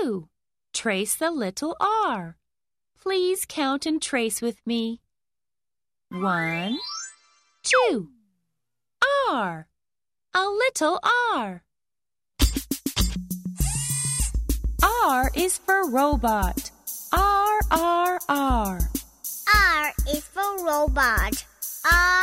2. Trace the little r. Please count and trace with me. 1, 2. R. A little r. R is for robot. R, R, R. R is for robot. R